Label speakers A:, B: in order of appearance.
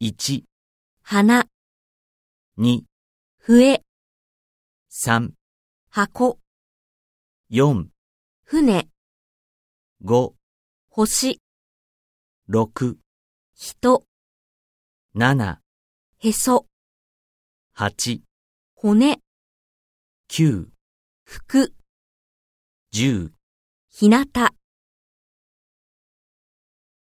A: 1、
B: 花、
A: 2、
B: 笛、
A: 3、
B: 箱、
A: 4、
B: 船、
A: 5、
B: 星、
A: 6、
B: 人、
A: 7、
B: へそ、
A: 8、
B: 骨、
A: 9、
B: 服、
A: 10
B: 日向。